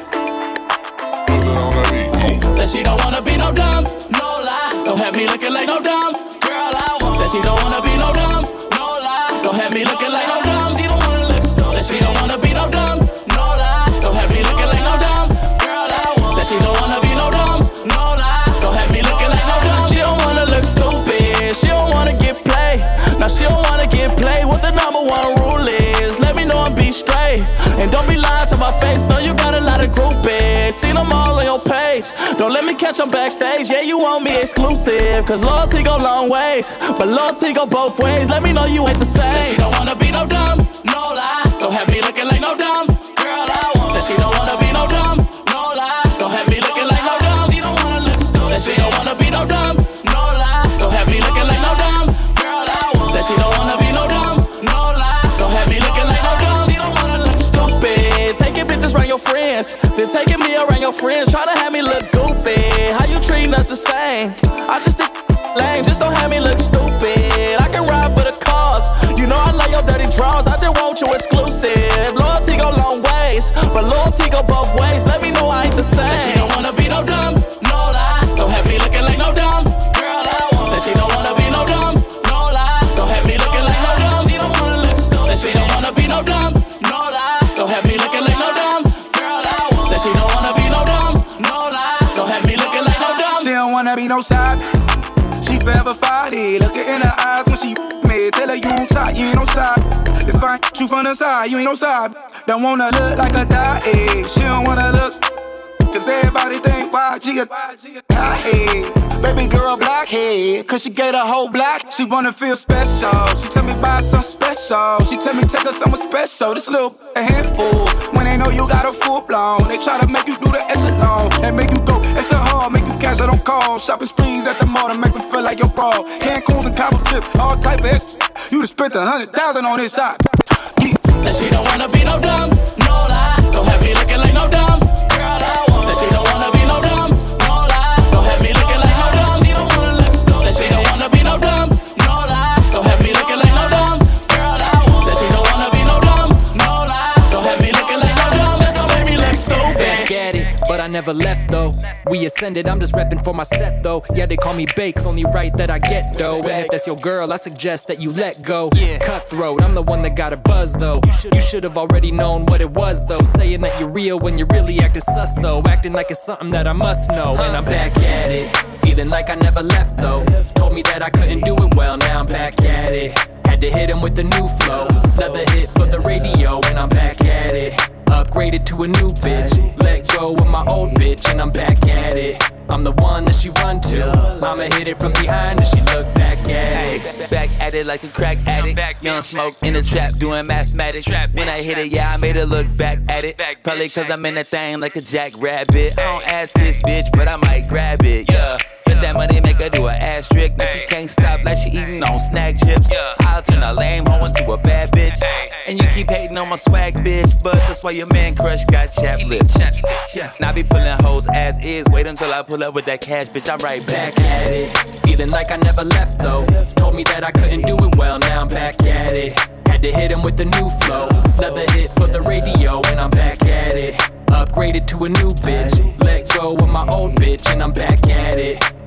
Said she don't wanna be no dumb, no lie. Don't have me looking like no dumb girl. I want. Said she don't wanna be no dumb, no lie. Don't have me looking like no dumb. She don't wanna look stupid. Said she don't wanna be no dumb, no lie. Don't have me looking like no dumb girl. I want. Said she don't wanna be no dumb, no lie. Don't have me looking like no dumb. She don't wanna look stupid. She don't wanna get played. Now she don't wanna get played. What the number one rule is? Let me know and be straight. And don't be lying to my face. No, you got a lot of groupies. See them all on your page. Don't let me catch them backstage. Yeah, you want me exclusive. Cause loyalty go long ways. But loyalty go both ways. Let me know you ain't the same. Said she don't wanna be no dumb, no lie. Don't have me looking like no dumb girl. I want. Said she don't wanna be no dumb, no lie. Don't have me looking like no dumb. She don't wanna look stupid. Said she don't wanna be no dumb, no lie. Don't have me looking like no dumb girl. I want. Said she don't wanna be no dumb, no lie. Don't have me looking like no dumb. She don't wanna look stupid. Taking pictures around your friends, then taking me around your friends. Tryna have me look goofy. How you treating us the same? I just think lame. Just don't have me look stupid. I can ride for the cause. You know I love your dirty draws. I just want you exclusive. Loyalty go long ways, but loyalty go both ways. Let me know I ain't the same. Said she don't wanna be no dumb, no lie. Don't have me looking like no dumb girl. I want. Said she don't wanna be no dumb, no lie. Don't have me looking like no dumb. She don't wanna look stupid. Said she don't wanna be no dumb, no lie. Don't have me looking like no dumb girl. I want. Said she don't wanna be no dumb, no lie. Don't have me looking like no dumb. She don't wanna be no side. She forever fighty. Looking in her eyes when she me. Tell her you on top, you ain't no side. If I ain't you from the side, you ain't no side. Don't wanna look like a die. She don't wanna look. Cause everybody think why she a high head. Baby girl blockhead. Cause she get a whole block. She wanna feel special. She tell me buy something special. She tell me take her somewhere special. This little a handful. When they know you got a full blown, they try to make you do the extra long. And make you go extra hard. Make you cash out on call. Shopping sprees at the mall to make me feel like you're broad. Cancun's and Cabo trip, all type of extra. You just spent 100,000 on this shot. Said she don't wanna be no dumb, no lie. Don't have me looking like no dumb girl. I want. Said she don't wanna be no dumb, no lie. Don't have me looking like no dumb. She don't wanna look stupid. Said she don't wanna be no dumb, no lie. Don't have me looking like no dumb girl. I want. Said she don't wanna be no dumb, no lie. Don't have me looking like no dumb. Just don't make me look stupid. Back at it, but I never left though. We ascended, I'm just repping for my set though. Yeah, they call me Bakes, only right that I get though. And if that's your girl, I suggest that you let go. Cutthroat, I'm the one that got a buzz though. You should have already known what it was though. Saying that you're real when you're really acting sus though. Acting like it's something that I must know. And I'm back at it, feeling like I never left though. Told me that I couldn't do it well, now I'm back at it. Had to hit him with the new flow. Another hit for the radio, and I'm back at it. Upgraded to a new bitch. Let go of my old bitch, and I'm back at it. I'm the one that she run to. I'ma hit it from behind and she look back at it. Back at it like a crack addict. Young smoke in the trap doing mathematics. When I hit it, yeah, I made her look back at it. Probably cause I'm in that thing like a jackrabbit. I don't ask this bitch, but I might grab it, yeah. Let that money make her do an ass trick. Now she can't stop like she eating on snack chips. I'll turn a lame hoe into a bad bitch. And you keep hating on my swag, bitch, but that's why your man crush got chapped lips. Now I be pulling hoes as is. Wait until I pull up with that cash, bitch, I'm right back at it. Feeling like I never left though. Told me that I couldn't do it well, now I'm back at it. Had to hit him with the new flow. Another hit for the radio, and I'm back at it. Upgraded to a new bitch. Let go of my old bitch, and I'm back at it.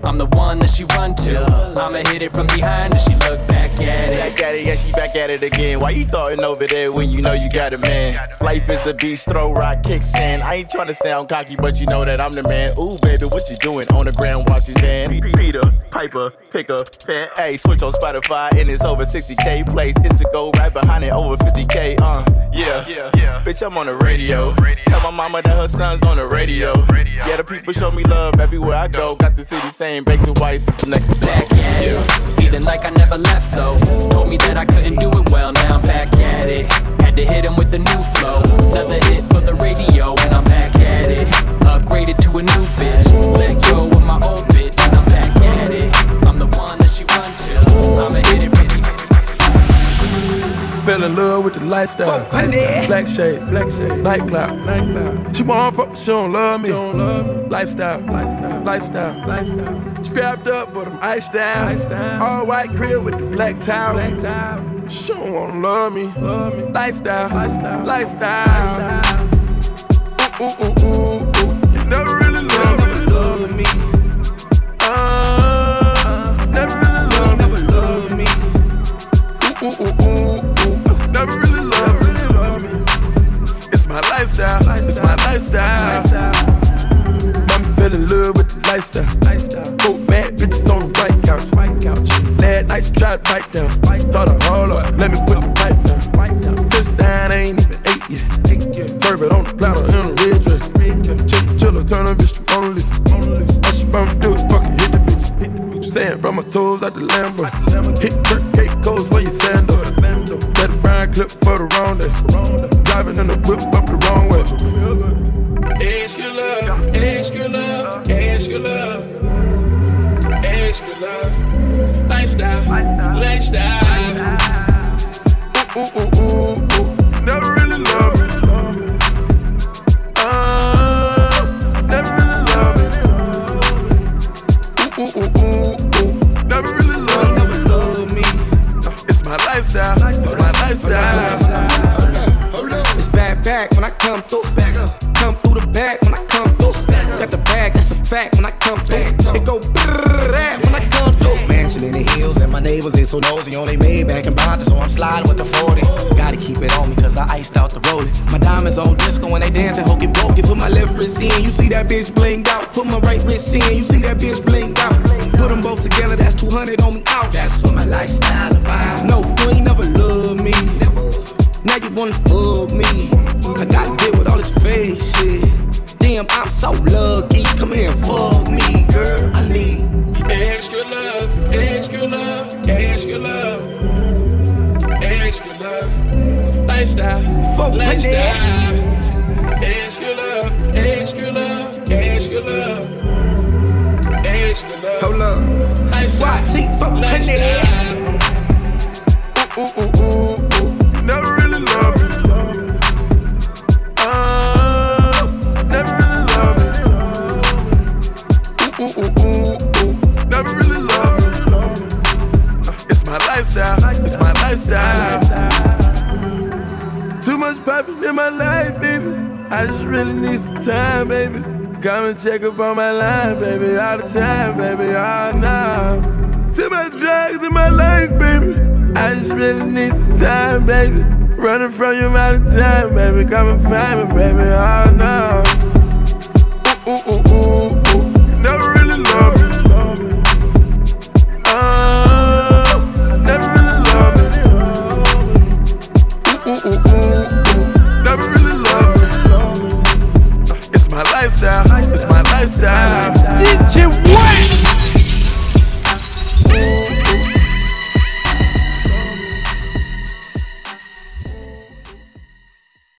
I'm the one that she run to. I'ma hit it from behind and she look back at it. Back at it, yeah, she back at it again. Why you throwing over there when you know you got a man? Life is a beast, throw rock, kick sand. I ain't tryna sound cocky, but you know that I'm the man. Ooh, baby, what you doing on the ground? Watch his man. Peter, Piper, pick up, pen, A. Switch on Spotify and it's over 60K plays. It's a go right behind it, over 50K. Yeah. Bitch, I'm on the radio. Tell my mama that her son's on the radio. Yeah, the people show me love everywhere I go. Got the city saying bakes and whites, it's next to back at it. Feeling like I never left though. Told me that I couldn't do it well, now I'm back at it. Had to hit him with the new flow. Another hit for the radio, and I'm back at it. Upgraded to a new bitch. Let go of my old bitch, and I'm back at it. I'm the one that she run to. I'ma hit it from the Fell in love with the lifestyle. Black shades, nightclub. She want fuck, she don't love me. Lifestyle. Strapped up, but I'm iced down. All white crib with the black towel. She don't wanna love me. Lifestyle. Ooh. You never really love me. Never really love me. Ooh. Never really love me. It's my lifestyle. I'm fell in love with the lifestyle. 4 bad bitches on the white couch. Last night she tried to bite down. Thought I hold up, let me put the pipe down. Touchdown, I ain't even 8 yet. Serve it on the platter in a red dress. Chiller, turn a bitch to Mona Lisa. All she bound to do is fucking hit the bitch. Sand from my toes out the Lambo. Hit Kirk cake goes for your sandals. Let the brown clip for the wrong day. Driving in the whip up the wrong way. Extra love. Lifestyle. Ooh. Never really love me. Never really love me. Ooh. Never really love me. It's my lifestyle. It's back when I come through. Come through the back when I come through. Got the bag, that's a fact when I come through. It go brrrr when I come through. Mansion in the hills and my neighbors ain't so nosy. On they made back in Bonta, so I'm sliding with the 40. Gotta keep it on me cause I iced out the rollie. My diamonds on disco when they dancing, hokey pokey. Put my left wrist in, you see that bitch blinged out. Put my right wrist in, you see that bitch blinged out. Put them both together, that's 200 on me out. That's what my lifestyle about. No, you ain't never loved me. Now you wanna fuck me. I gotta deal with all this fake shit. Damn, I'm so lucky. Come here and fuck me, girl. I need extra love. Lifestyle. Extra love. Hold up. Swat, see, fuck lifestyle. Ooh. Never really love me. Never really love me. Ooh. Never really love me. It's my lifestyle. Too much poppin' in my life, baby. I just really need some time, baby. Come and check up on my line, baby. All the time, baby. Oh, no. Too much drugs in my life, baby. I just really need some time, baby. Running from you all the time, baby. Come and find me, baby. Oh, no. Ooh. Never really love me. Never really love me. Ooh. Never really love me. It's my lifestyle. DJ Wayne.